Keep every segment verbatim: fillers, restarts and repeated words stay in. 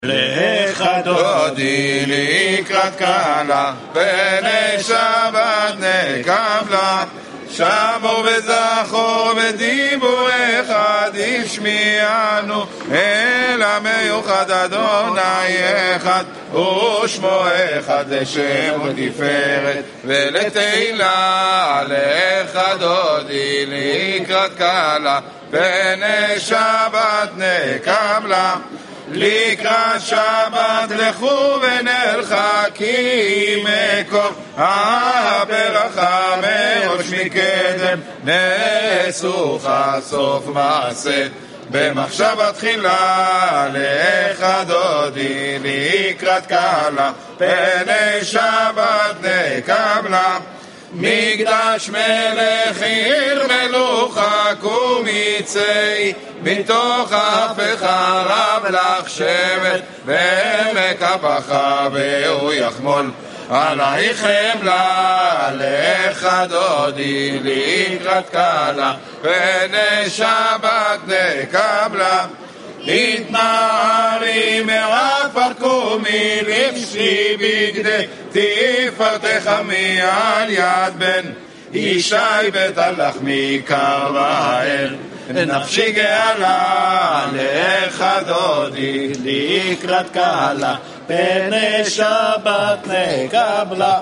לך דודי לקראת קלה, פני שבת נקבלה, שמור וזכור ודיבור אחד ישמיענו, אל המיוחד אדוני אחד, ושמו אחד לשם ותפארת ולתהילה. לך דודי לקראת קלה, פני שבת נקבלה, לקראת שבת לכו ונרחקים מקום הברכה מראש מקדם, נסוך סוף מעשה במחשבה תחילה. לך דודי לקראת קלה, פני שבת נקבלה, מקדש מלך עיר מלוכה קומיצי, בתוך הפך רב לך שבט, ומקבך והוא יחמול עלייך חמלה. לך דודי לקראת קלה, פני שבת נקבלה, התנערי מעפר קומי לבשי בגדי תפארתך מעל יד בן ישי בטלך מקר ואל נפשי גאלה. לך דודי לקראת קלה, פני שבת נקבלה,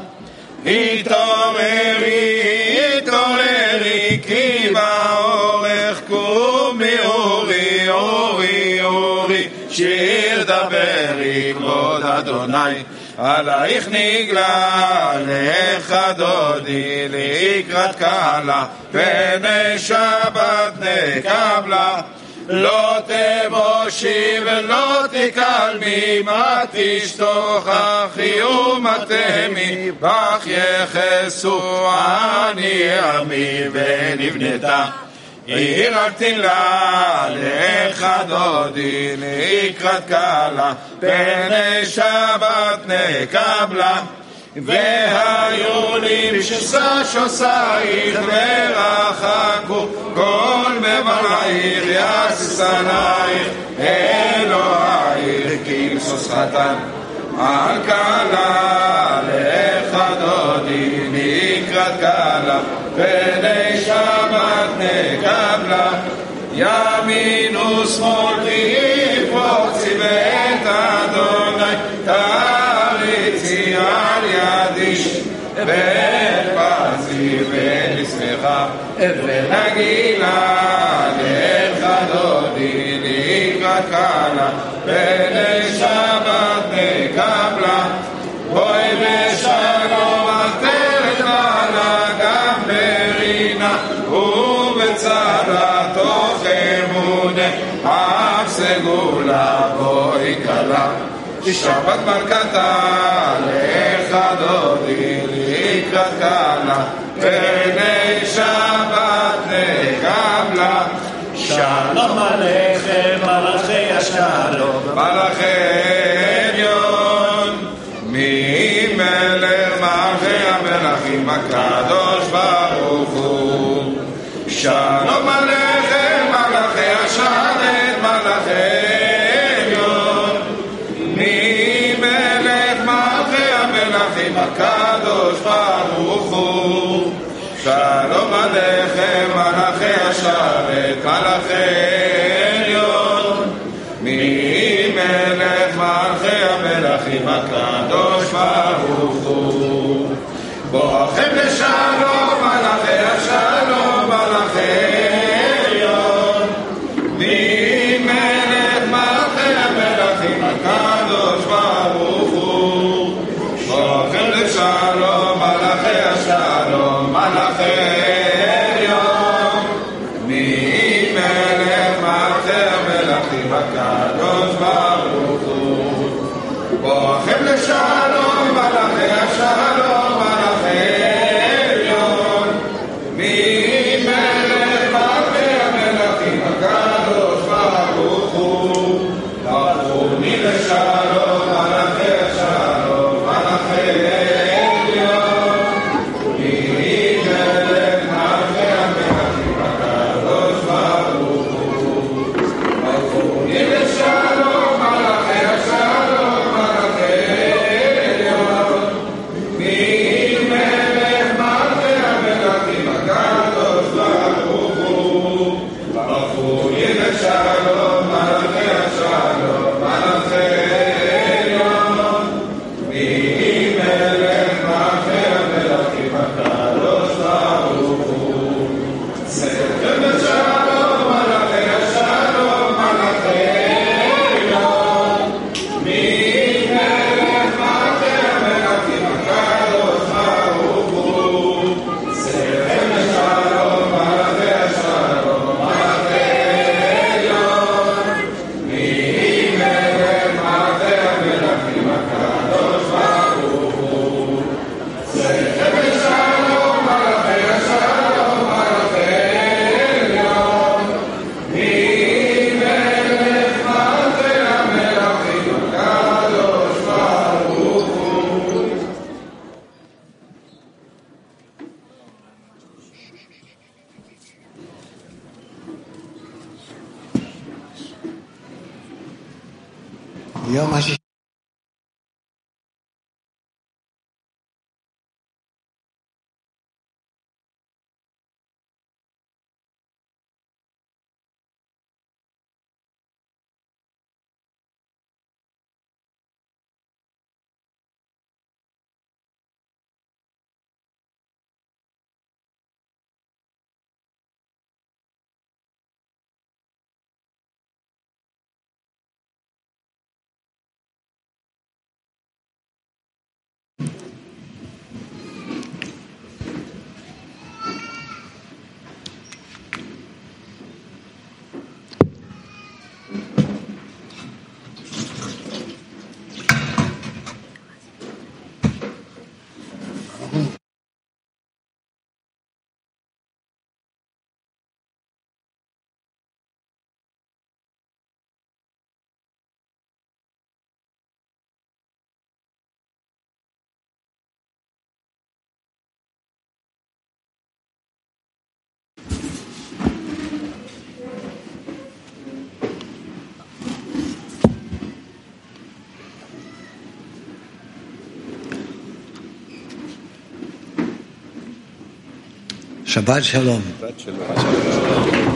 התעוררי התעוררי כי באורך קומי אורי אורי אורי, שיר דברי כבוד אדוני עלייך נגלה. לך דודי לקראת קלה, פני שבת נקבלה, לא תבושי ולא תקלמי, מה תשתוכחי ומה תמי, בך יחסו אני עמי ונבנתה עיר ארתילה. לך דודי לקראת קלה, פני שבת נקבלה, והיו לי בשסה שוסייך ורחקו כל מבלעייך יסס עלייך אלוהייך כמסוס חתן על קלה. לך דודי לקראת קלה, פני שבת נקבלה, ימין ושמאל תפרוצי ואת אדוני תריצי על ידי, ופרצי ונשמחה ונגילה. לך דודי לקראת קלה, פני שבת נקבלה, בואי בשלום עטרת מעלה, גם ברינה ובצרה תוך אמונה, אף סגולה בואי קלה שבת מלכתה. לך דודי לקראת קלה, פני שבת נקבלה, שלום עליכם מלאכי השלום, מלאכי עליון ממלך מלכי המלכים הקדוש ברוך הוא. שלום עליכם מלאכי השרת, מלאכי עליון ממלך מלכי המלכים הקדוש ברוך הוא. שלום עליכם מלאכי השרת, מלאכי עליון ממלך מלכי המלכים הקדוש ברוך הוא. בואכם לשלום מלאכי השלום, מלאכי עליון ממלך מלכי המלכים הקדוש ברוך הוא. בואכם לשלום מלאכי השלום, מלאכי עליון ממלך מלכי המלכים הקדוש ברוך הוא. בואכם לשלום מלאכי השלום, מלאכי עליון ממלך מלכי המלכים הקדוש ברוך הוא. ברכוני לשלום מלאכי השלום, מלאכי עליון ממלך מלכי המלכים הקדוש ברוך הוא. ברכוני לשלום מלאכי השלום, יום השישי. שבת שלום. שבת שלום.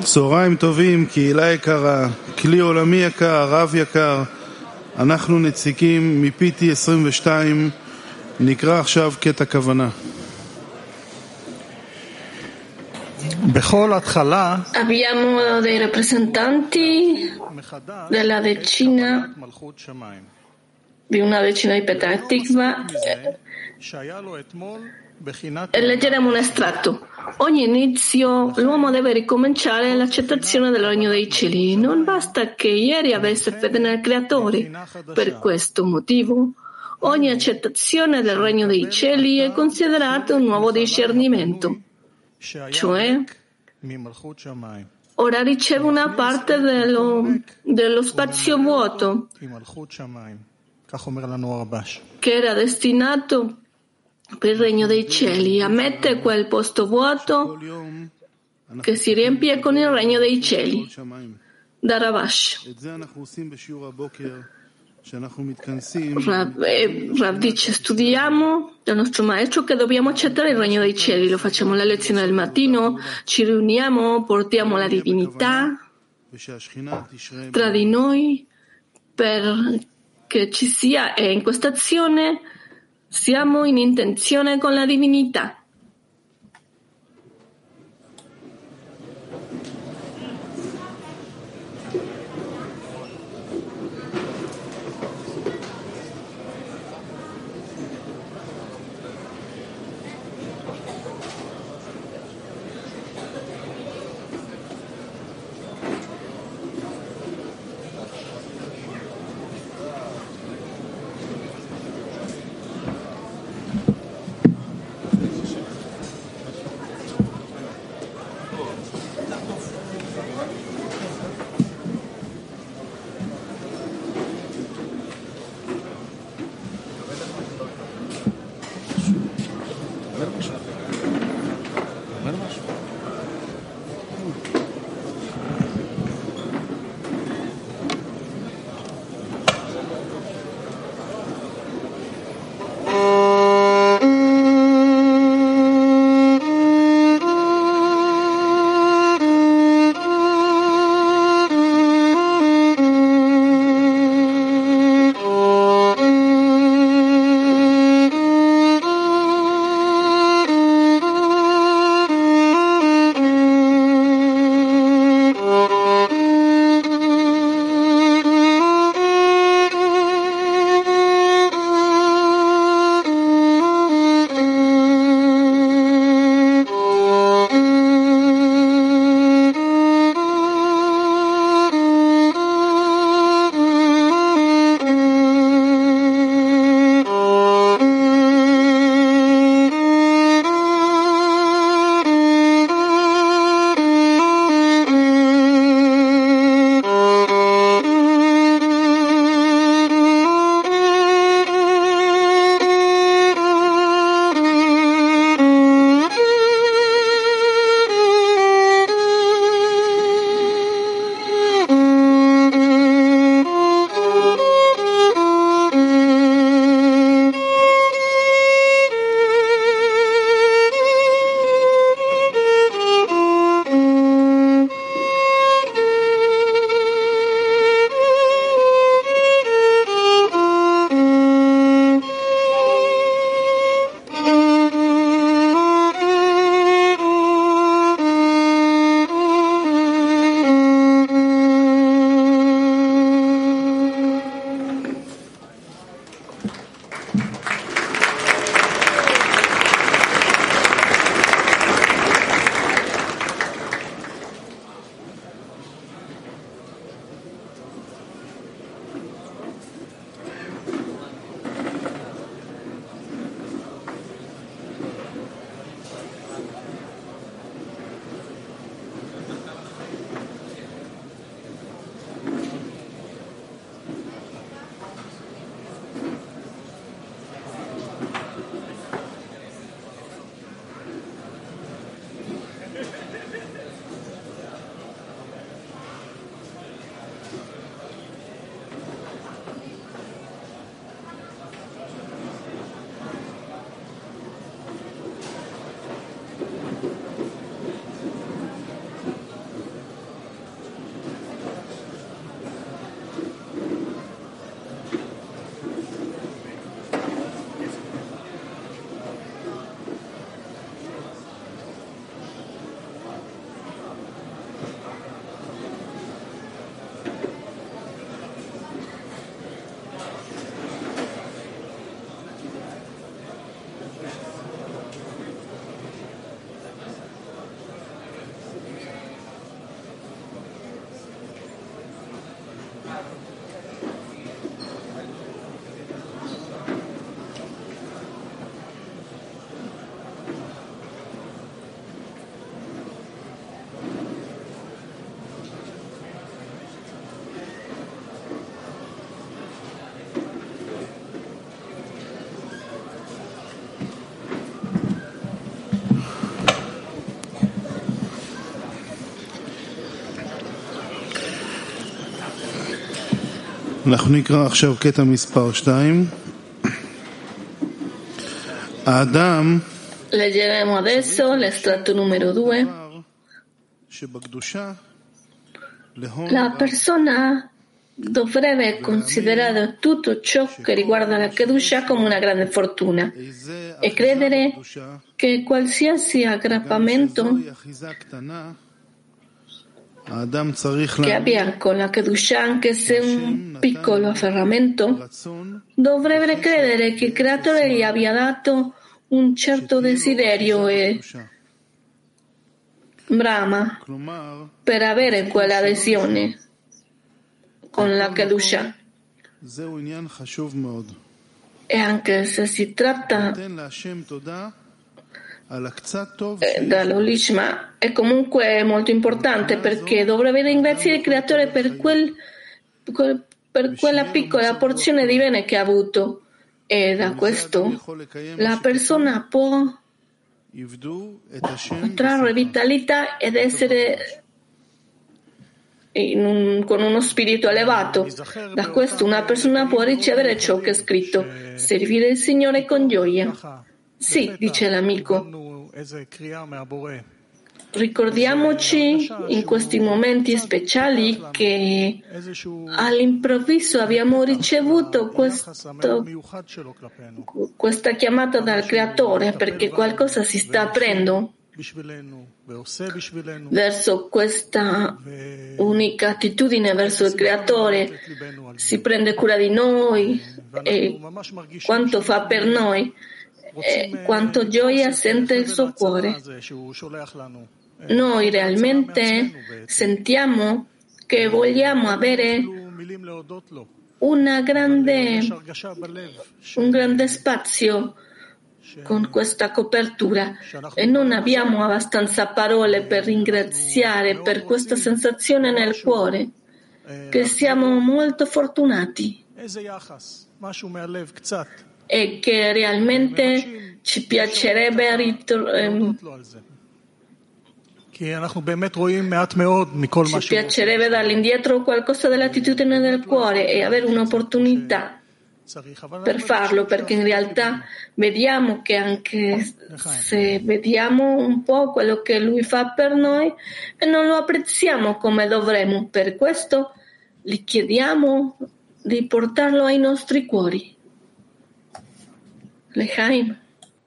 צהריים טובים, קהילה יקרה, כלי עולמי יקר, רב יקר, אנחנו נציגים מ-פי טי עשרים ושתיים, נקרא עכשיו קטע כוונה. Abbiamo dei rappresentanti della decina di una decina di Petah Tikva e leggeremo un estratto. Ogni inizio l'uomo deve ricominciare l'accettazione del regno dei cieli. Non basta che ieri avesse fede nel Creatore. Per questo motivo ogni accettazione del regno dei cieli è considerata un nuovo discernimento. Cioè, ora riceve una parte dello, dello spazio vuoto che era destinato per il regno dei cieli. Ammette quel posto vuoto che si riempie con il regno dei cieli. Da Ravash. Rav, eh, Rav dice, studiamo dal nostro maestro che dobbiamo accettare il regno dei cieli, lo facciamo alla lezione del mattino, ci riuniamo, portiamo la divinità tra di noi perché ci sia, e in questa azione siamo in intenzione con la divinità. אנחנו נקרא עכשיו קטע מספר שתיים. האדם Leggeremo adesso l'estratto numero due. La persona dovrebbe considerare tutto ciò che riguarda la Kedusha come una grande fortuna e credere che qualsiasi aggrappamento che abbia con la Kedusha, anche se un piccolo afferramento, dovrebbe credere che il Creatore gli abbia dato un certo desiderio e brama per avere quella adesione con la Kedusha. E anche se si tratta eh, dall'Olishma, è comunque molto importante, perché dovrebbe ringraziare il Creatore per, quel, quel, per quella piccola porzione di bene che ha avuto. E da questo la persona può trarre vitalità ed essere in un, con uno spirito elevato. Da questo una persona può ricevere ciò che è scritto: servire il Signore con gioia. Sì, dice l'amico, ricordiamoci in questi momenti speciali che all'improvviso abbiamo ricevuto questo, questa chiamata dal Creatore, perché qualcosa si sta aprendo verso questa unica attitudine verso il Creatore. Si prende cura di noi e quanto fa per noi e quanto gioia sente il suo cuore. Noi realmente sentiamo che vogliamo avere una grande, un grande spazio con questa copertura e non abbiamo abbastanza parole per ringraziare per questa sensazione nel cuore, che siamo molto fortunati e che realmente ci piacerebbe ritornare. Ci piacerebbe dargli indietro qualcosa dell'attitudine del cuore e avere un'opportunità per farlo, perché in realtà vediamo che anche se vediamo un po' quello che lui fa per noi e non lo apprezziamo come dovremmo, per questo gli chiediamo di portarlo ai nostri cuori. Lechaim.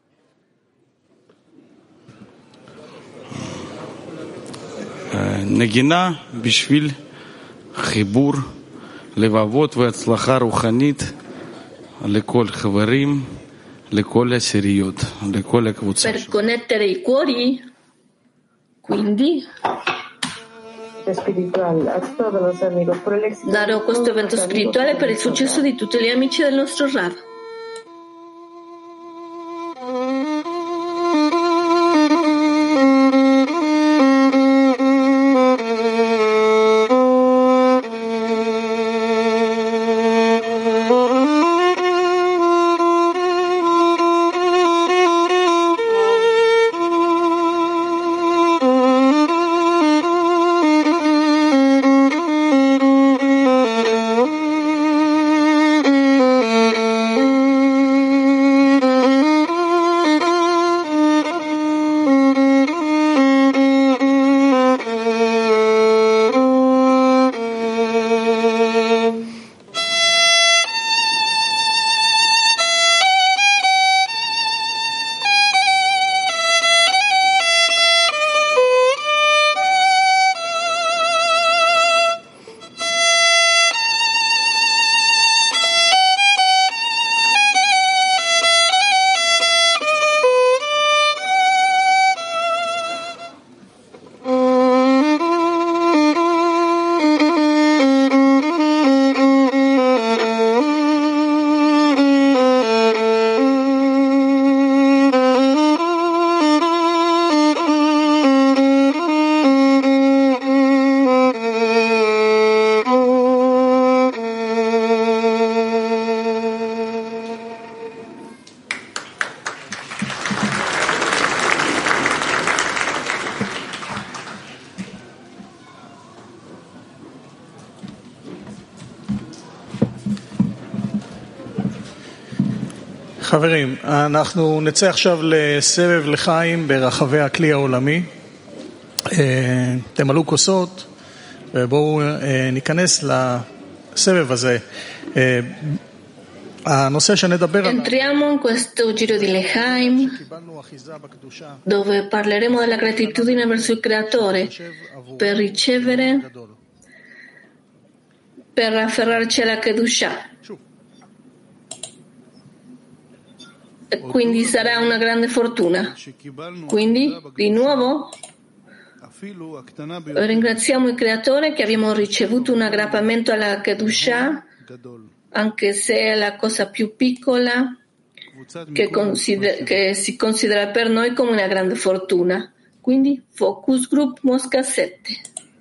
נגינה בשביל חיבור לבבות והצלחה רוחנית לכל חברים, לכל עשיריות, לכל הקבוצה. Per connettere i cuori, quindi darò questo evento spirituale per il successo di tutti gli amici del nostro Rav. חברים, אנחנו נצא עכשיו לסבב לחיים ברחבי הכלי העולמי. תמלאו כוסות ובואו ניכנס לסבב הזה. הנושא שנדבר עליו. Entriamo in questo giro di Lechaim dove parleremo della gratitudine verso il Creatore per ricevere, per afferrarci alla Kedusha. E quindi sarà una grande fortuna. Quindi, di nuovo, ringraziamo il Creatore che abbiamo ricevuto un aggrappamento alla Kedusha, anche se è la cosa più piccola che, consider- che si considera per noi come una grande fortuna. Quindi, Focus Group Mosca sette.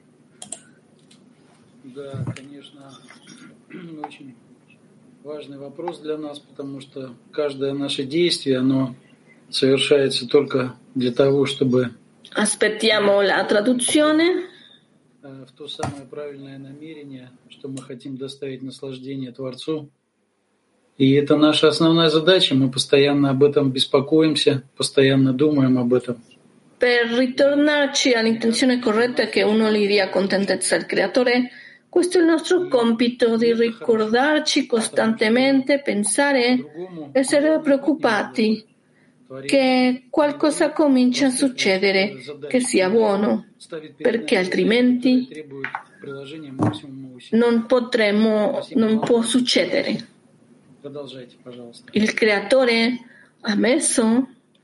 Да, конечно, очень важный вопрос для нас, потому что каждое наше действие, оно совершается только для того, чтобы Aspettiamo la traduzione. в то самое правильное намерение, что мы хотим доставить наслаждение Творцу. И это наша основная задача, мы постоянно об этом беспокоимся, постоянно думаем об этом. Per ritornarci all'intenzione corretta che uno gli dia contentezza al Creatore, questo è il nostro compito di ricordarci costantemente, pensare, essere preoccupati che qualcosa comincia a succedere, che sia buono, perché altrimenti non potremo, non può succedere. Il Creatore ha messo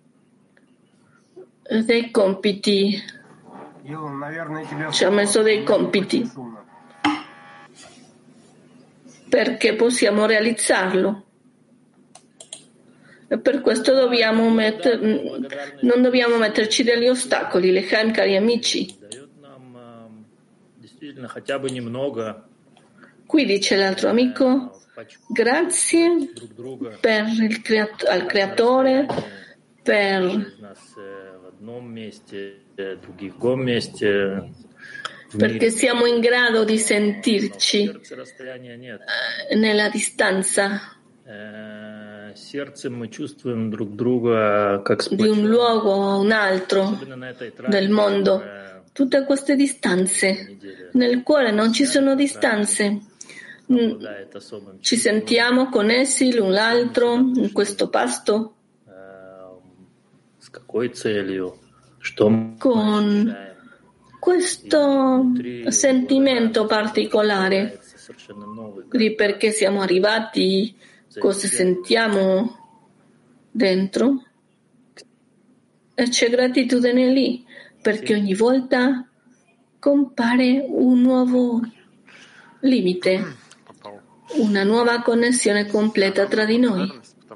dei compiti, ci ha messo dei compiti perché possiamo realizzarlo. E per questo dobbiamo metter, non dobbiamo metterci degli ostacoli. Lechaim, cari amici. Qui dice l'altro amico, grazie per il creat- al Creatore, per, perché siamo in grado di sentirci eh, nella distanza di un luogo a un altro del mondo. Tutte queste distanze. Nel cuore non ci sono distanze. Ci sentiamo connessi l'un l'altro in questo pasto con questo sentimento particolare di perché siamo arrivati, cosa sentiamo dentro, e c'è gratitudine lì perché ogni volta compare un nuovo limite, una nuova connessione completa tra di noi.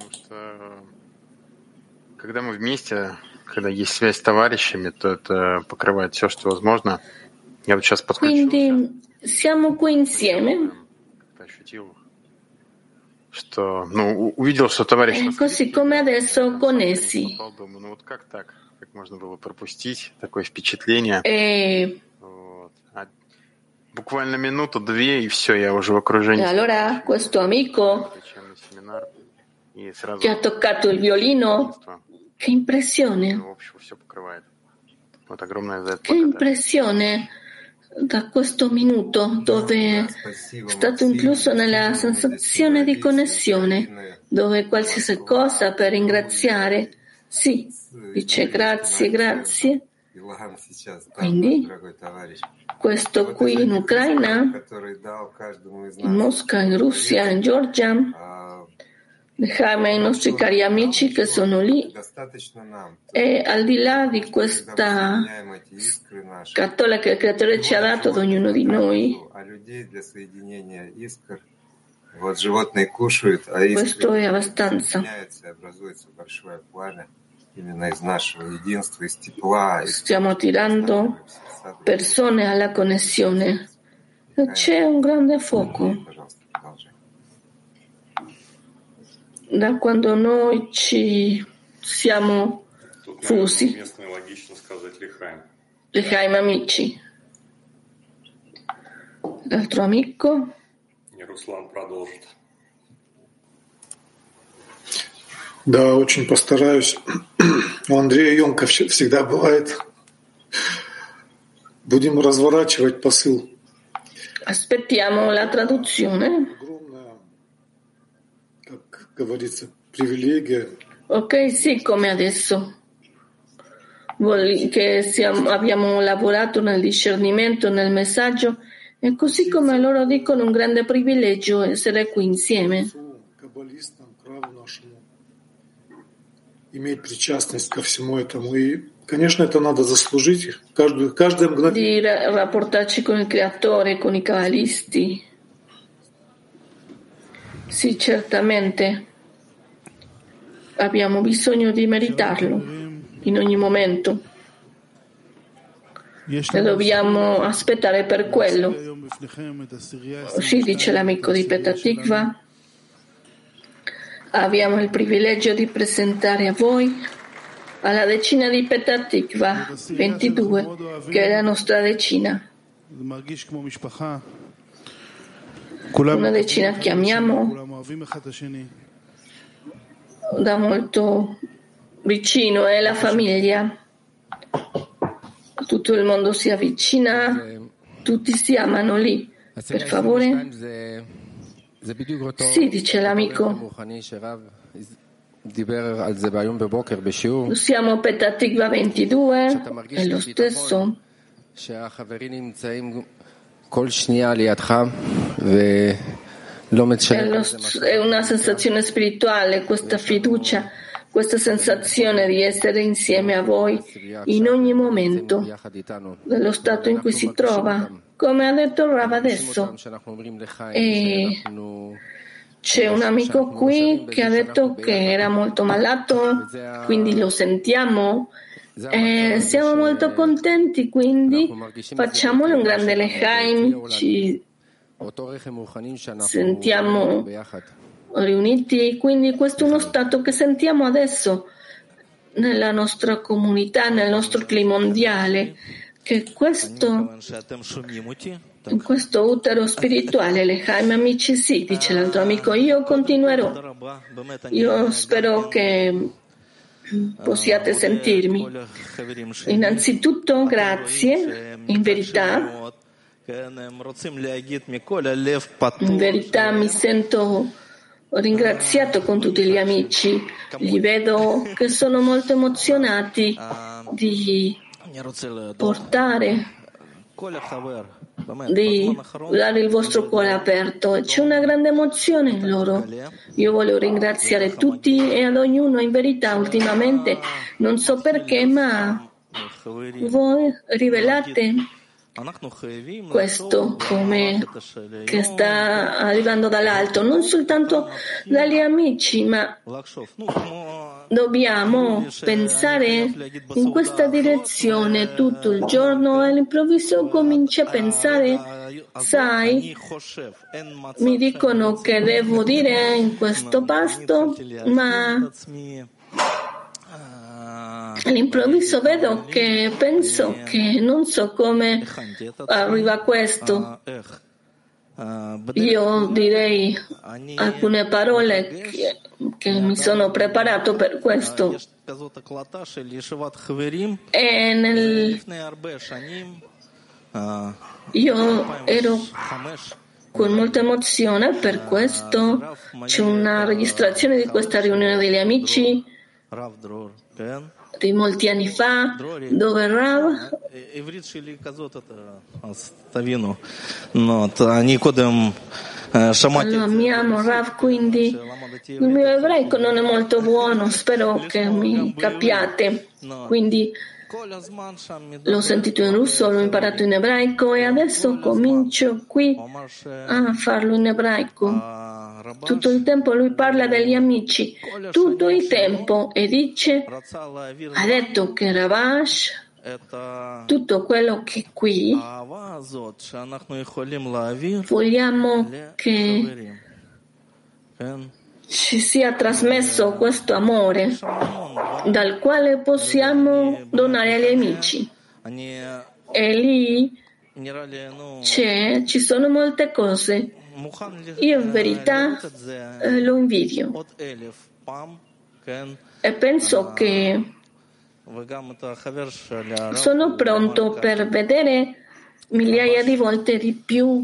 Когда мы вместе, когда есть связь с товарищами, то это покрывает все, что возможно. Я вот сейчас подключился. Quindi siamo qui insieme. Ощутил, что, ну, увидел, что товарищ... E così come adesso connessi. Думаю, ну вот как так? Как можно было пропустить такое впечатление? E... Вот. А буквально минуту-две, и все, я уже в окружении. E allora questo amico che ha toccato il violino, che impressione, che impressione da questo minuto dove è stato incluso nella sensazione di connessione, dove qualsiasi cosa per ringraziare, sì, dice grazie, grazie. Quindi questo qui in Ucraina, in Mosca, in Russia, in Georgia, Lechaim, i nostri cari amici che sono lì, e al di là di questa scatola che il Creatore ci ha dato ad ognuno di noi, questo è abbastanza. Stiamo tirando persone alla connessione e c'è un grande fuoco. Da quando noi ci siamo fusi. Lechaim, amici. L'altro amico. Да, очень постараюсь. У Андрея емко всегда бывает. Будем разворачивать посыл. Aspettiamo la traduzione. Огромная, как говорится, привилегия. Ok, sì, come adesso. Che siamo, abbiamo lavorato nel discernimento, nel messaggio, e così come loro dicono un grande privilegio essere qui insieme. Иметь причастность ко всему этому. И, конечно, это надо заслужить. Каждую, каждое мгновение. Di rapportarci con il Creatore, con i Kabbalisti. Sì, certamente. Abbiamo bisogno di meritarlo in ogni momento. E dobbiamo aspettare per quello. Sì, dice l'amico di Petah Tikva. Abbiamo il privilegio di presentare a voi alla decina di Petah Tikva ventidue, che è la nostra decina. Una decina che amiamo da molto vicino, è la famiglia. Tutto il mondo si avvicina, tutti si amano lì. Per favore. Sì, dice l'amico. Siamo a Petah Tikva ventidue, è lo stesso. È, lo, è una sensazione spirituale, questa fiducia, questa sensazione di essere insieme a voi in ogni momento dello stato in cui si trova, come ha detto Rav adesso. E c'è un amico qui che ha detto che era molto malato, quindi lo sentiamo. E siamo molto contenti, quindi facciamole un grande lechaim, ci sentiamo riuniti, quindi questo è uno stato che sentiamo adesso nella nostra comunità, nel nostro clima mondiale, che questo, in questo utero spirituale, lechaim amici, sì, dice l'altro amico, io continuerò, io spero che possiate sentirmi. Innanzitutto grazie, in verità in verità mi sento ringraziato con tutti gli amici, li vedo che sono molto emozionati di portare, di dare il vostro cuore aperto, e c'è una grande emozione in loro. Io voglio ringraziare tutti e ad ognuno, in verità ultimamente non so perché, ma voi rivelate questo come che sta arrivando dall'alto, non soltanto dagli amici, ma dobbiamo pensare in questa direzione tutto il giorno, e all'improvviso cominci a pensare, sai, mi dicono che devo dire in questo pasto, ma all'improvviso vedo che penso che non so come arriva a questo. Io direi alcune parole che, che mi sono preparato per questo. E nel, io ero con molta emozione, per questo c'è una registrazione di questa riunione degli amici di molti anni fa, dove Rav lo amiamo Rav, quindi il mio ebraico non è molto buono, spero che mi capiate, quindi l'ho sentito in russo, l'ho imparato in ebraico e adesso comincio qui a farlo in ebraico. Tutto il tempo lui parla degli amici, tutto il tempo, e dice, ha detto che Ravash, tutto quello che qui vogliamo che ci sia trasmesso questo amore dal quale possiamo donare agli amici. E lì c'è, ci sono molte cose. Io in verità eh, lo invidio. e penso che sono pronto per vedere migliaia di volte di più.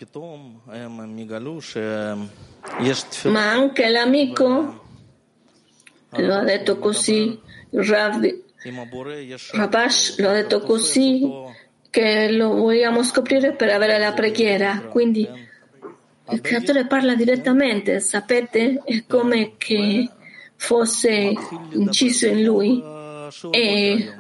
Ma anche l'amico lo ha detto così, il Rav Rabash lo ha detto così, che lo vogliamo scoprire per avere la preghiera. Quindi il creatore parla direttamente, sapete? È come che fosse inciso in lui. E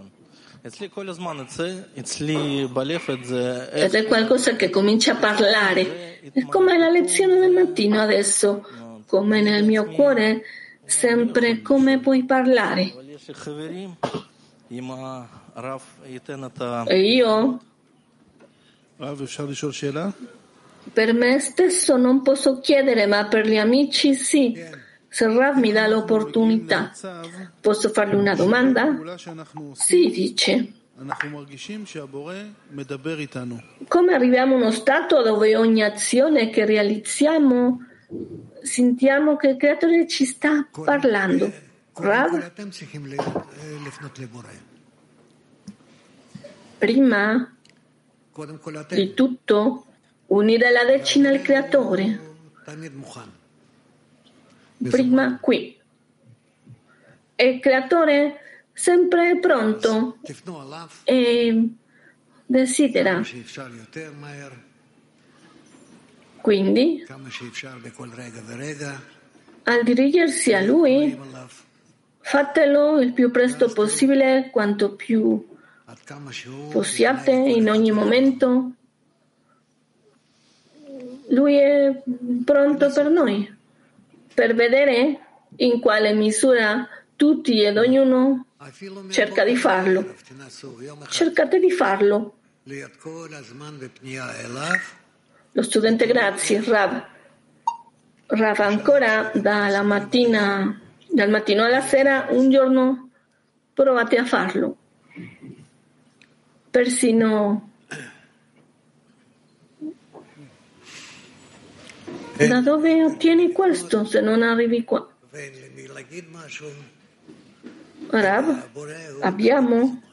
ed è qualcosa che comincia a parlare. È come la lezione del mattino adesso, come nel mio cuore, sempre come puoi parlare. E io, per me stesso non posso chiedere, ma per gli amici sì. Se Rav mi dà l'opportunità, posso fargli una domanda? Sì, dice. Come arriviamo a uno stato dove ogni azione che realizziamo sentiamo che il creatore ci sta parlando? Rav? Prima di tutto, unire la decina al creatore. Prima qui. E il creatore sempre è pronto e desidera. Quindi, al dirigersi a lui, fatelo il più presto possibile, quanto più possiate, in ogni momento. Lui è pronto per noi, per vedere in quale misura tutti ed ognuno cerca di farlo. Cercate di farlo. Lo studente, grazie, Rav. Rav, ancora dalla mattina, dal mattino alla sera, un giorno provate a farlo. Persino da dove ottieni questo se non arrivi qua? Rav, abbiamo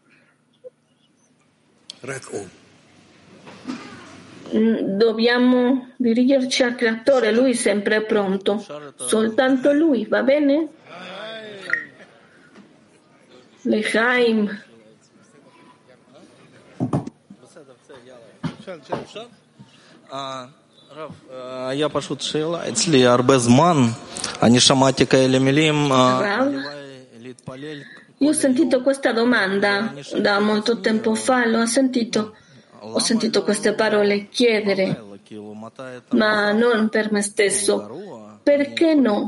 dobbiamo dirigerci al creatore, lui sempre è pronto, soltanto lui, va bene? Lechaim. Я пошут שאלה, אצלי הרבה זמן, אני שמעתי כאלה מילים, Io ho sentito questa domanda da molto tempo fa, l'ho sentito, ho sentito queste parole chiedere, ma non per me stesso. Perché no?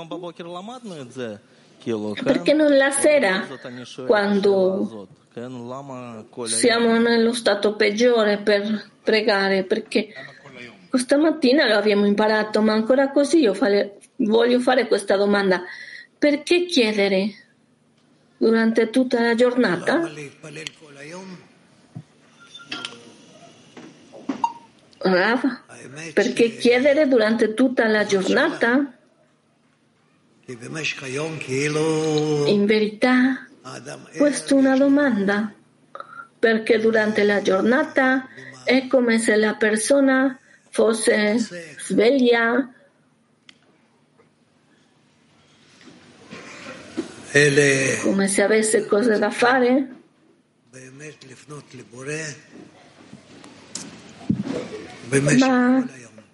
Perché non la sera, quando siamo nello stato peggiore per pregare? Perché questa mattina lo abbiamo imparato, ma ancora così io fare, voglio fare questa domanda. Perché chiedere durante tutta la giornata? Rav, perché chiedere durante tutta la giornata? In verità, questa è una domanda, perché durante la giornata è come se la persona fosse sveglia, come se avesse cose da fare, ma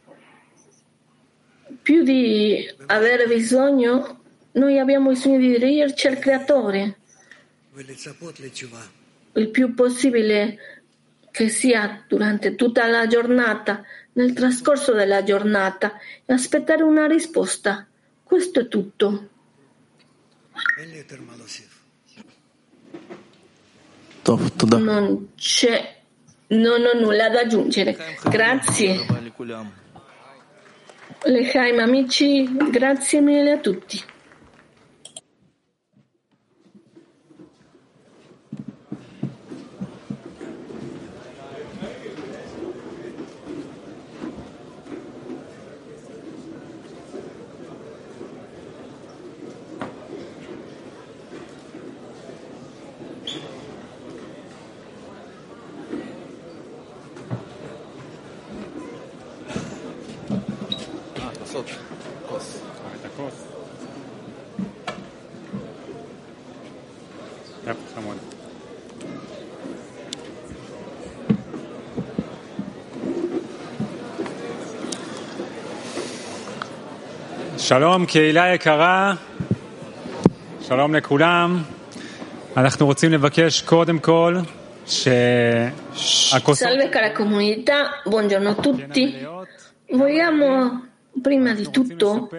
più di avere bisogno, noi abbiamo bisogno di dirigerci al creatore il più possibile che sia durante tutta la giornata, nel trascorso della giornata, e aspettare una risposta. Questo è tutto. Non c'è, non ho nulla da aggiungere. Grazie. Lechaim, amici, grazie mille a tutti. שלום, קהילה יקרה, שלום לכולם. אנחנו רוצים לבקש קודם כל שהכוסות... Salve cara comunità, buongiorno a tutti. Vogliamo prima di tutto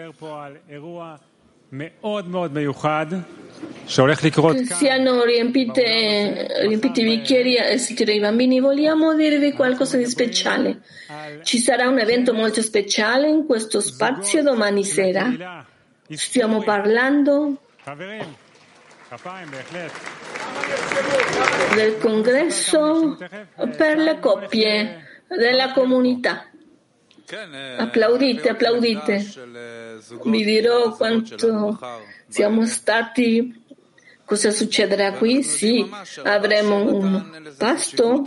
che siano riempite, riempiti i bicchieri e assistere i bambini. Vogliamo dirvi qualcosa di speciale. Ci sarà un evento molto speciale in questo spazio domani sera. Stiamo parlando del congresso per le coppie della comunità. Applaudite, applaudite. Vi dirò quanto siamo stati, cosa succederà qui. Sì, avremo un pasto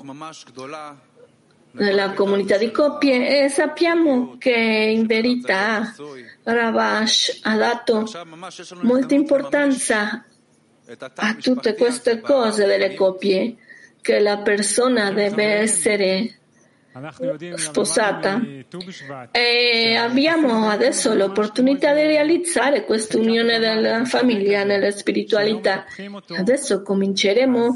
nella comunità di coppie e sappiamo che in verità Ravash ha dato molta importanza a tutte queste cose delle coppie, che la persona deve essere sposata, e abbiamo adesso l'opportunità di realizzare questa unione della famiglia nella spiritualità. Adesso cominceremo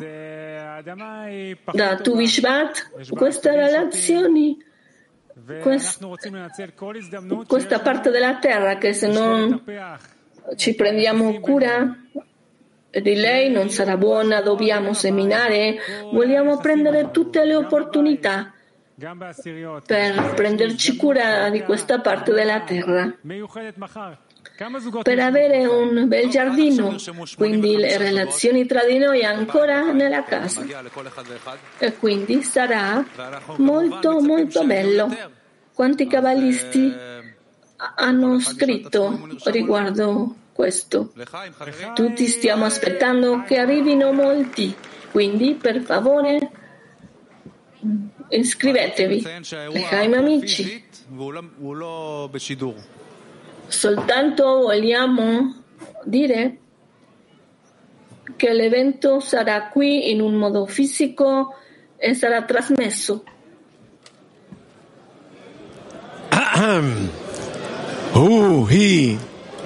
da Tu Bishvat queste relazioni, quest, questa parte della terra che se non ci prendiamo cura di lei non sarà buona. Dobbiamo seminare, vogliamo prendere tutte le opportunità per prenderci cura di questa parte della terra, per avere un bel giardino, quindi le relazioni tra di noi ancora nella casa, e quindi sarà molto molto bello. Quanti cabalisti hanno scritto riguardo questo? Tutti stiamo aspettando che arrivino molti, quindi per favore iscrivetevi, Lechaim amici. Soltanto vogliamo dire che l'evento sarà qui in un modo fisico e sarà trasmesso. Uh, he.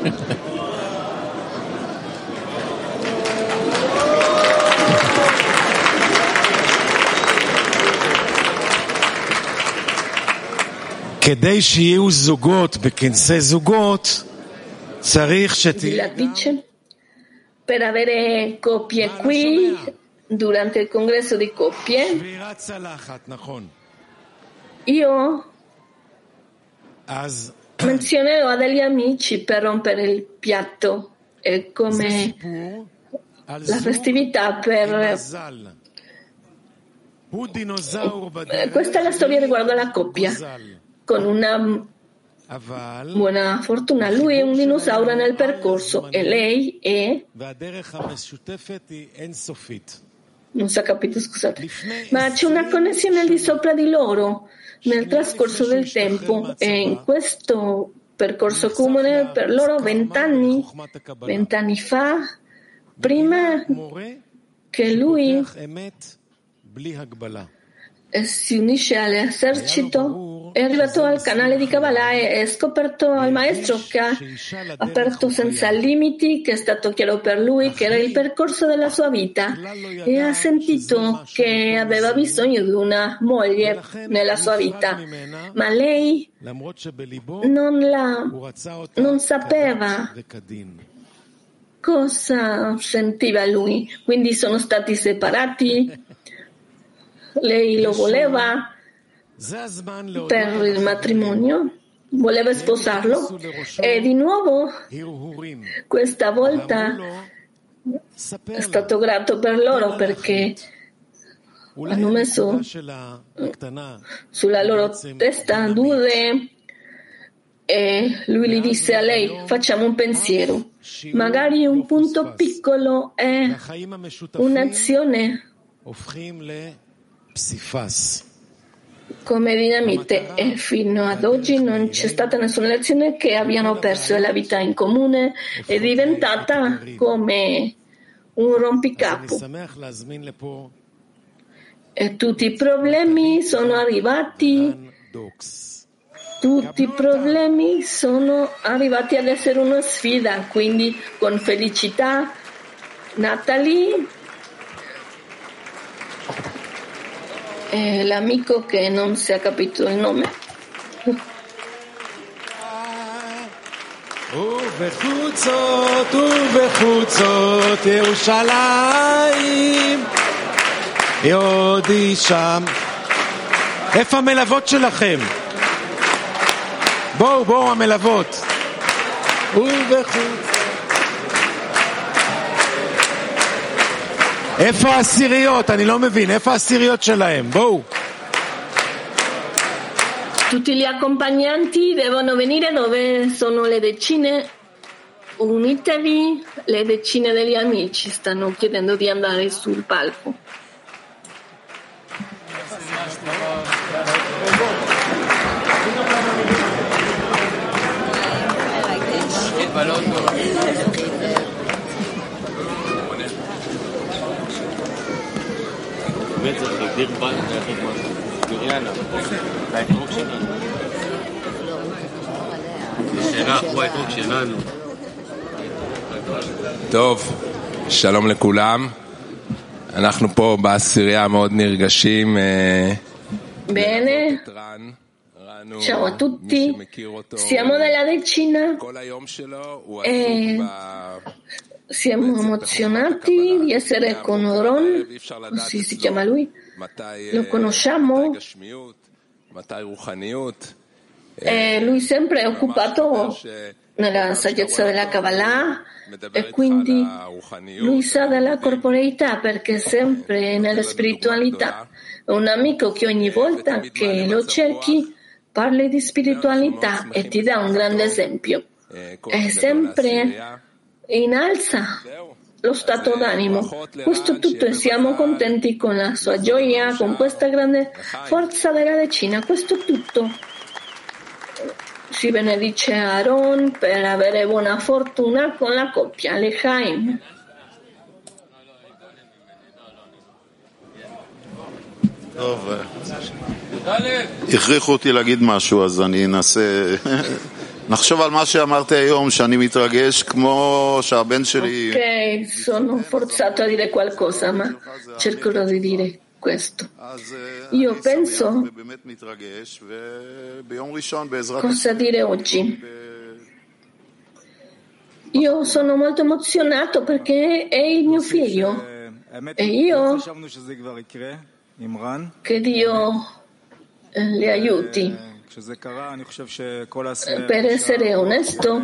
כדי שיהיו זוגות בכנסי זוגות צריך שתהיה per avere coppie qui durante il congresso di coppie. Io menzionerò a degli amici per rompere il piatto, e come la festività per questa è la storia riguardo alla coppia. Con una buona fortuna lui è un dinosauro nel percorso e lei è, non si è capito, scusate, ma c'è una connessione al di sopra di loro nel trascorso del tempo, e in questo percorso comune per loro vent'anni vent'anni fa, prima che lui si unisce all'esercito, è arrivato al canale di Kabbalah e ha scoperto il maestro che ha aperto senza limiti, che è stato chiaro per lui che era il percorso della sua vita, e ha sentito che aveva bisogno di una moglie nella sua vita, ma lei non, la, non sapeva cosa sentiva lui, quindi sono stati separati. Lei lo voleva per il matrimonio, voleva sposarlo, e di nuovo questa volta è stato grato per loro perché hanno messo sulla loro testa due, e lui gli disse a lei: facciamo un pensiero, magari un punto piccolo è un'azione come dinamite e fino ad oggi non c'è stata nessuna lezione che abbiano perso la vita in comune, è diventata come un rompicapo e tutti i problemi sono arrivati tutti i problemi sono arrivati ad essere una sfida, quindi con felicità Natalie e l'amico che non si è capito il nome. ובחוצות ובחוצות ירושלים יהודי שם. איפה המלוות שלכם? בואו, בואו המלוות. ובחוצות. איפה העשיריות? אני לא מבין. איפה העשיריות שלהם? בואו. Tutti gli accompagnanti devono venire dove sono le decine. Unitevi, le decine degli amici stanno chiedendo di andare sul palco. טוב, שלום לכולם. אנחנו פה בעשירייה מאוד נרגשים. Bene, ciao a tutti, siamo nella decina e siamo emozionati di essere con Ron, così si chiama lui, lo conosciamo e lui sempre è occupato nella saggezza della Kabbalah e quindi lui sa della corporeità perché sempre nella spiritualità. È un amico che ogni volta che lo cerchi parli di spiritualità e ti dà un grande esempio. È sempre innalza lo stato d'animo. Questo tutto e siamo contenti con la sua gioia, con questa grande forza della decina. Questo tutto. Si benedice Aaron per avere buona fortuna con la coppia Lechaim. טוב, הכריחו אותי להגיד משהו, אז אני אנסה, נחשוב על מה שאמרתי היום, שאני מתרגש כמו שהבן שלי... Ok, sono forzato a dire qualcosa, ma cercherò di dire questo. Io penso cosa dire oggi. Io sono molto emozionato perché è il mio figlio e io che Dio le aiuti. Per essere onesto,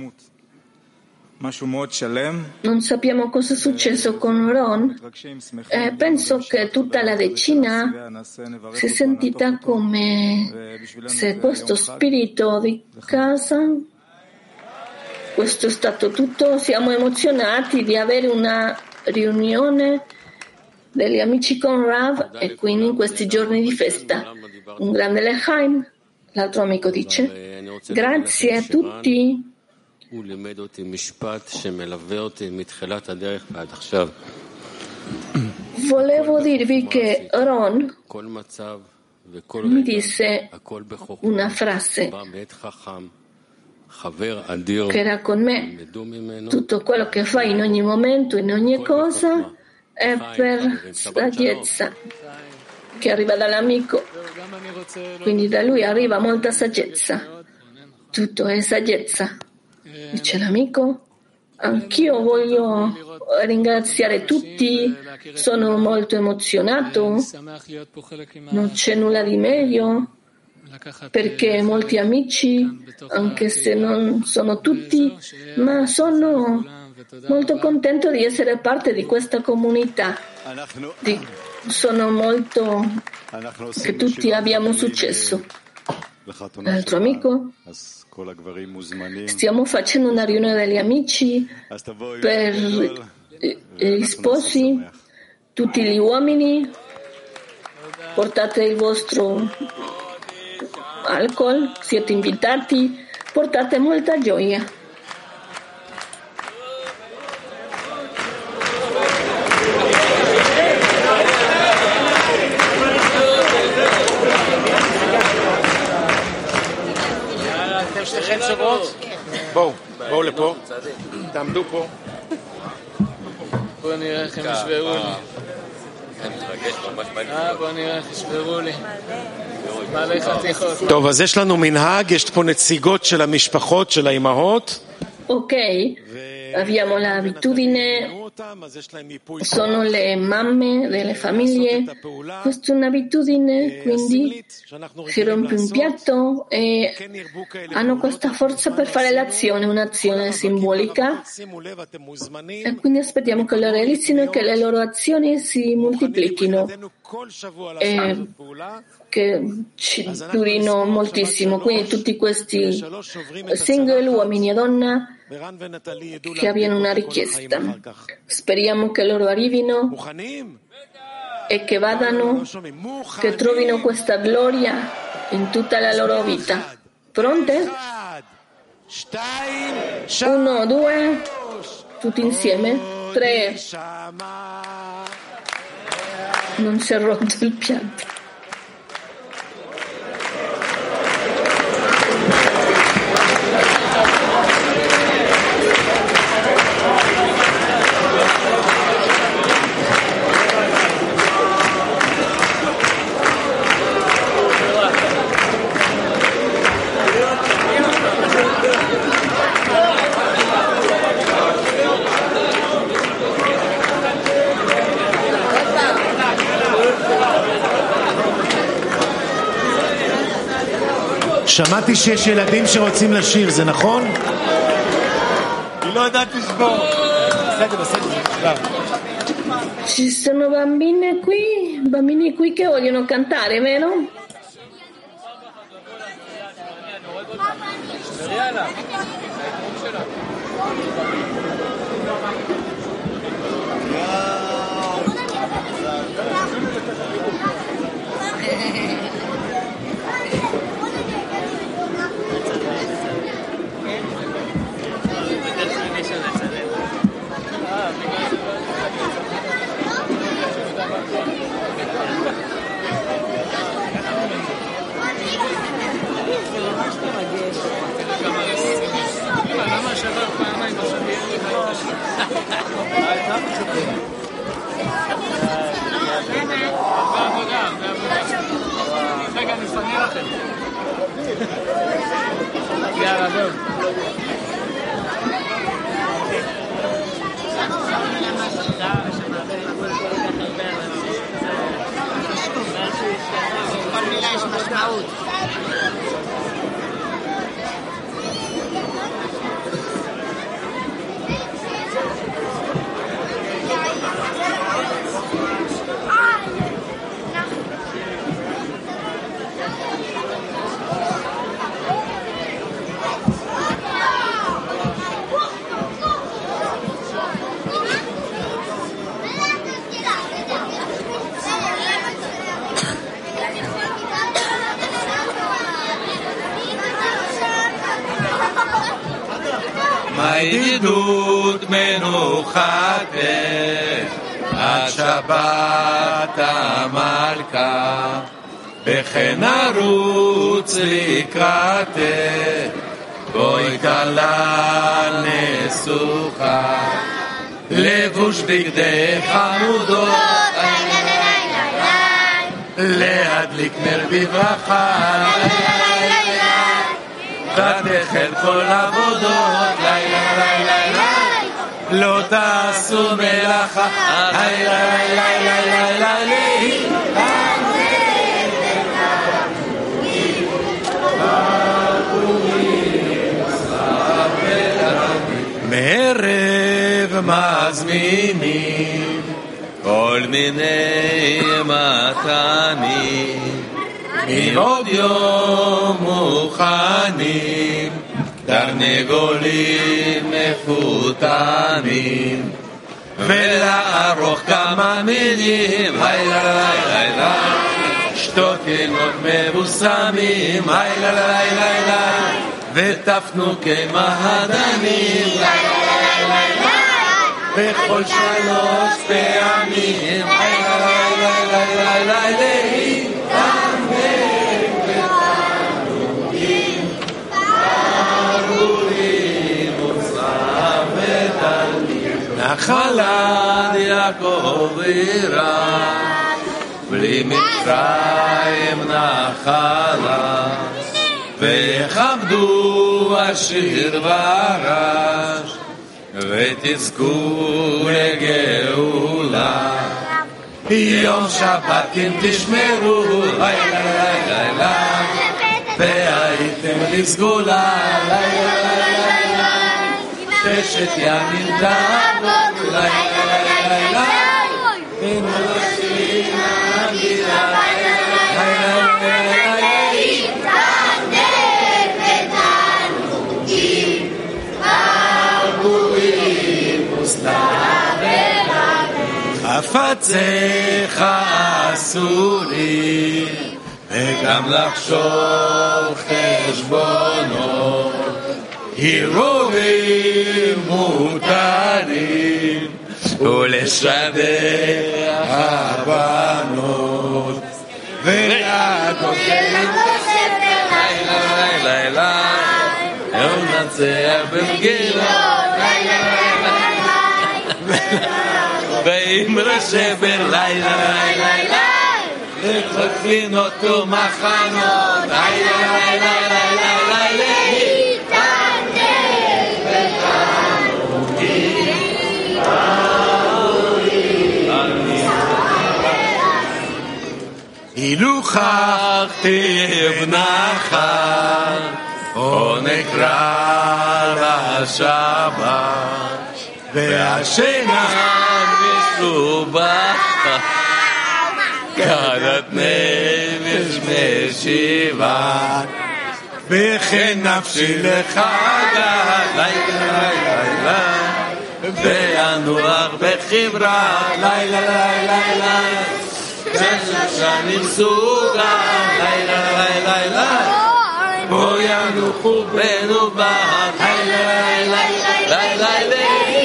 non sappiamo cosa è successo con Ron e penso che tutta la decina si è sentita come se questo spirito di casa, questo è stato tutto, siamo emozionati di avere una riunione degli amici con Rav e quindi in questi giorni di festa un grande Lechaim. L'altro amico dice grazie a tutti. Volevo dirvi che Ron mi disse una frase che era con me: tutto quello che fai in ogni momento, in ogni cosa è per saggezza che arriva dall'amico, quindi da lui arriva molta saggezza, tutto è saggezza. Dice l'amico, anch'io voglio ringraziare tutti, sono molto emozionato, non c'è nulla di meglio, perché molti amici, anche se non sono tutti, ma sono molto contento di essere parte di questa comunità, di, sono molto che tutti abbiamo successo. L'altro amico, stiamo facendo una riunione degli amici per gli sposi, tutti gli uomini, portate il vostro alcol, siete invitati, portate molta gioia. בואו, בואו לפה, תעמדו פה. בואו נראה איך הם ישברו לי. בואו נראה איך ישברו לי. בעלי חתיכות. טוב, אז יש לנו מנהג, יש פה נציגות של המשפחות, של האימהות. Ok, abbiamo l'abitudine, sono le mamme delle famiglie, questa è un'abitudine, quindi si rompe un piatto e hanno questa forza per fare l'azione, un'azione simbolica, e quindi aspettiamo che lo realizzino e che le loro azioni si moltiplichino e che ci durino moltissimo. Quindi tutti questi single, uomini e donna, che abbiano una richiesta, speriamo che loro arrivino e che vadano, che trovino questa gloria in tutta la loro vita. Pronte? Uno, due, tutti insieme. Tre. Non si è rotto il piatto. שמעתי שיש ילדים שרוצים לשיר, זה נכון? היא לא יודעת לשבור. בסדר, בסדר. Ci sono bambine qui, bambini qui che vogliono cantare, vero? רגע, אני אפנה לכם. יאללה, בואו. כל מילה יש משמעות. הידידות מנוחת עד שבת המלכה וכן נרוץ לקראתך בואי כלה נסוכה לבוש בגדי חמודות להדליק נר בברכה ותחל כל עבודות לילה לילה לילה לא תעשו מלאכה לילה לילה לילה לילה מערב מזמינים כל מיני מתנים מעוד יום מוכנים תרנגולים מפותנים ולערוך כמה מילים היי היי היי שתותינות מבוסמים, לילה לילה לילה, וטפנו כמהדנים, לילה לילה לילה, בכל שלוש פעמים, לילה לילה לילה לילה, להתעמק בתענוגים, ארורים וצלב ותלמיד, נחלת יעקב ירש, בלי מצרים נחלה, ויכבדו השיר והרש, ותזכו לגאולה. יום שבת אם תשמרו, לילה לילה לילה, והייתם לסגולה, לילה לילה לילה, ששת ימים תעבוד, לילה לילה לילה, ונושאים הגילה, לילה לילה לילה, להתענג בתענוגים, ארורים וסתיו חפציך אסורים, וגם לחשוב חשבונות, הרהורים מותרים, ולשדך הבנות, ולגודל בספר לילה לילה לילה, ונצח במגילה לילה לילה לילה, ואמרה שבר לילה לילה לילה, וחפינות ומחנות לילה לילה לילה לילה, להתענג בתענוגים ארורים. הילוכך תבנך, או נקרא לשבת, והשינה מסובך, כדת נפש משיבה, וכן נפשי לחגה, לילה לילה, ואנוח בחברה, לילה לילה לילה, וששנים סוגה, לילה לילה לילה, בו ינוחו בנו בה, לילה לילה לילה לילה,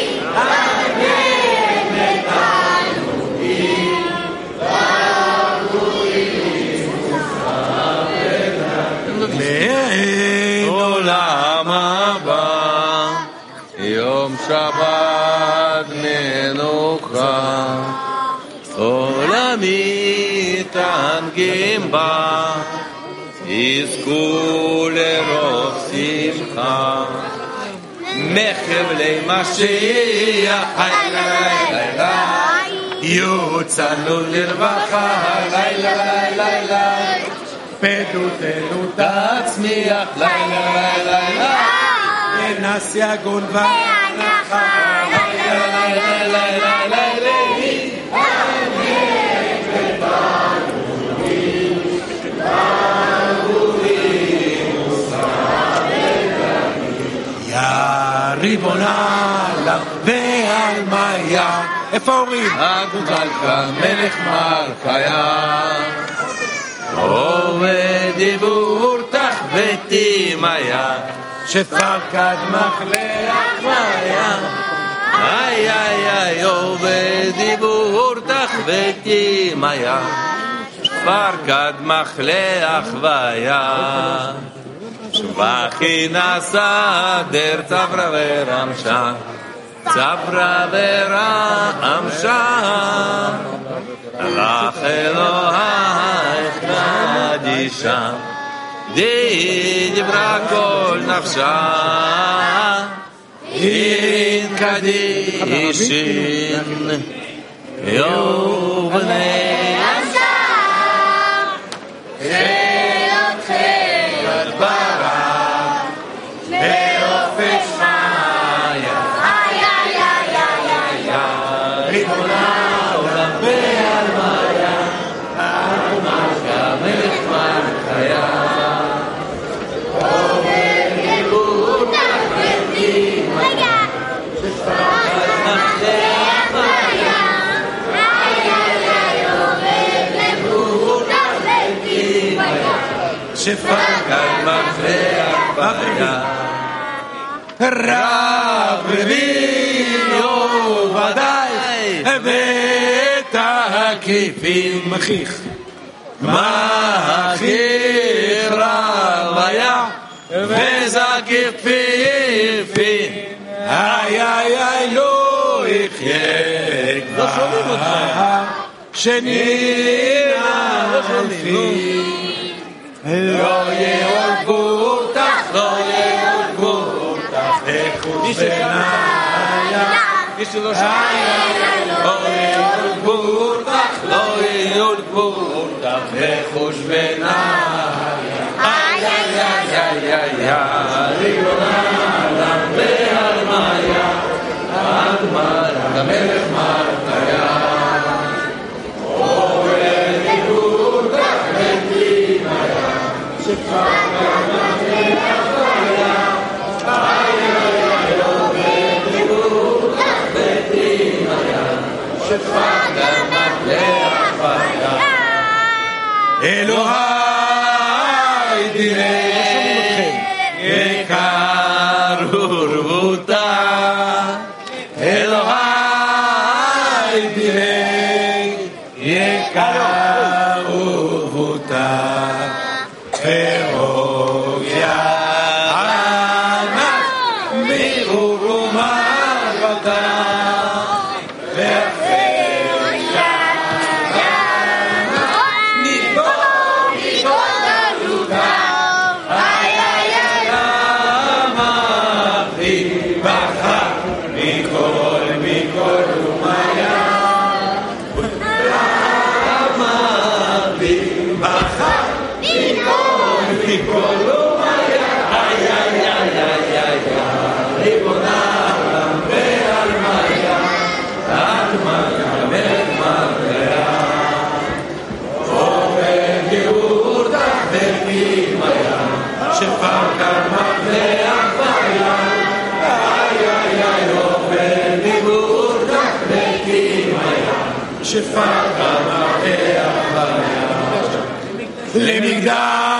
לעולם הבא, יום שבת מנוחה, עולמי תענגים בה, יזכו לרוב שמחה, מחבלי משיח, לילה לילה, יוצאנו לרווחה, לילה לילה, פדותנו תצמיח, לילה לילה לילה, ונס יגון והנחה, לילה לילה לילה לילה, להתענג בתענוגים ארורים וסתיו ותלמיד. יא ריבונה לה ועל מאיה, איפה ההורים? הגודלך מלך מלכיה, ובדיבור תחבטי מאיה, שפקד מחלך מאיה, איי איי איי, ובדיבור תחבטי מאיה, שפקד מחלך מאיה, שבחי נסע דר צברה ורמשה, צברה ורמשה, לך אלוהיך קדישה, דיברה כל נפשה, אין קדישין יובני עשה, חילותכם הדברה באופן שמיה, איי איי איי איי איי, ריבונה עולם ועל מאיה, על מלכה מלך מלכיה, ובדיבור תחבטי מאיה, שפקד מחלך מאיה, איי איי שפקד מפלח בבריאה רב רביעו ודאי ואת הקיפים מכיך מכיך רב היה וזקיף פיפי איי איי איי לא יחיה כבר שנינה אלפי לא יעולבו אותך לא יעולבו אותך וחוש בניה לא יעולבו אותך לא יעולבו אותך וחוש בניה איי איי איי איי איי ריבונה אדם והרמיה הרמיה המלך מרדכיה אלוהי דיני יקר ורבותה אלוהי דיני יקר ורבותה הרוגיה ענק מירו ומרבתה למקדש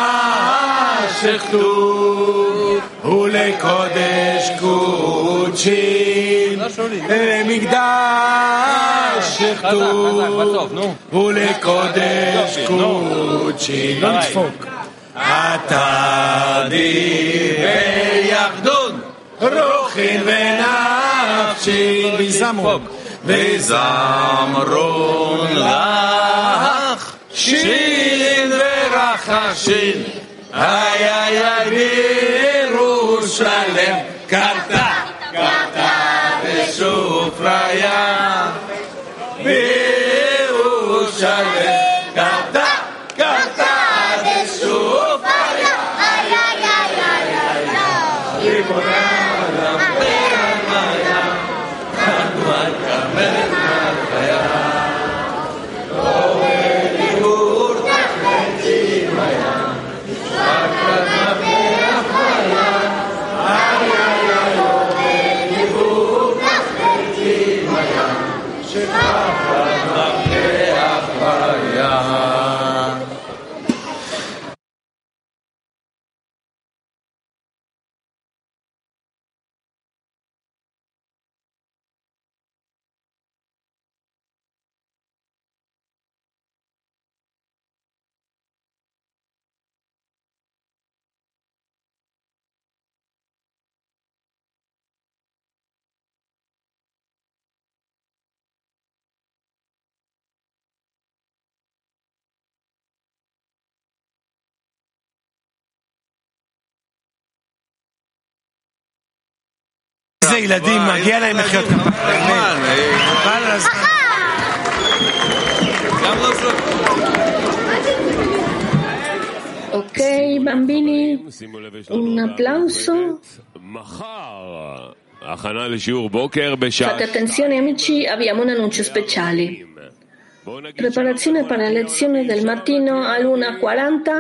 אחדות ולקודש קודשים למקדש אחדות ולקודש קודשים לא נדפוק אתה דיבר יחדון רוחין ונפשין ויזמון וזמרון לך שין ורחשין איי איי איי בירושלם קרתה קרתה בסופריה בירושלם קרתה קרתה בסופריה איי איי איי איי איי ריבונה איזה ילדים, מגיע להם לחיות כמה. Ok, bambini, un applauso. Fate attenzione amici, abbiamo un annuncio speciale. Preparazione per la lezione del mattino all'una e quaranta.